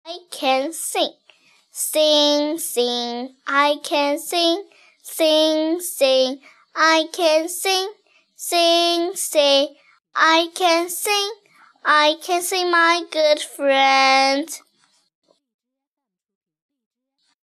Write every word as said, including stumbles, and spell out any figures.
I can sing, sing, sing, I can sing, sing, sing, I can sing, sing, sing, I can sing, I can sing, my good friend.